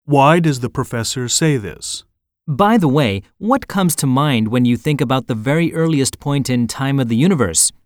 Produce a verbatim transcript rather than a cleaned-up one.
Why does the professor say this? By the way, what comes to mind when you think about the very earliest point in time of the universe?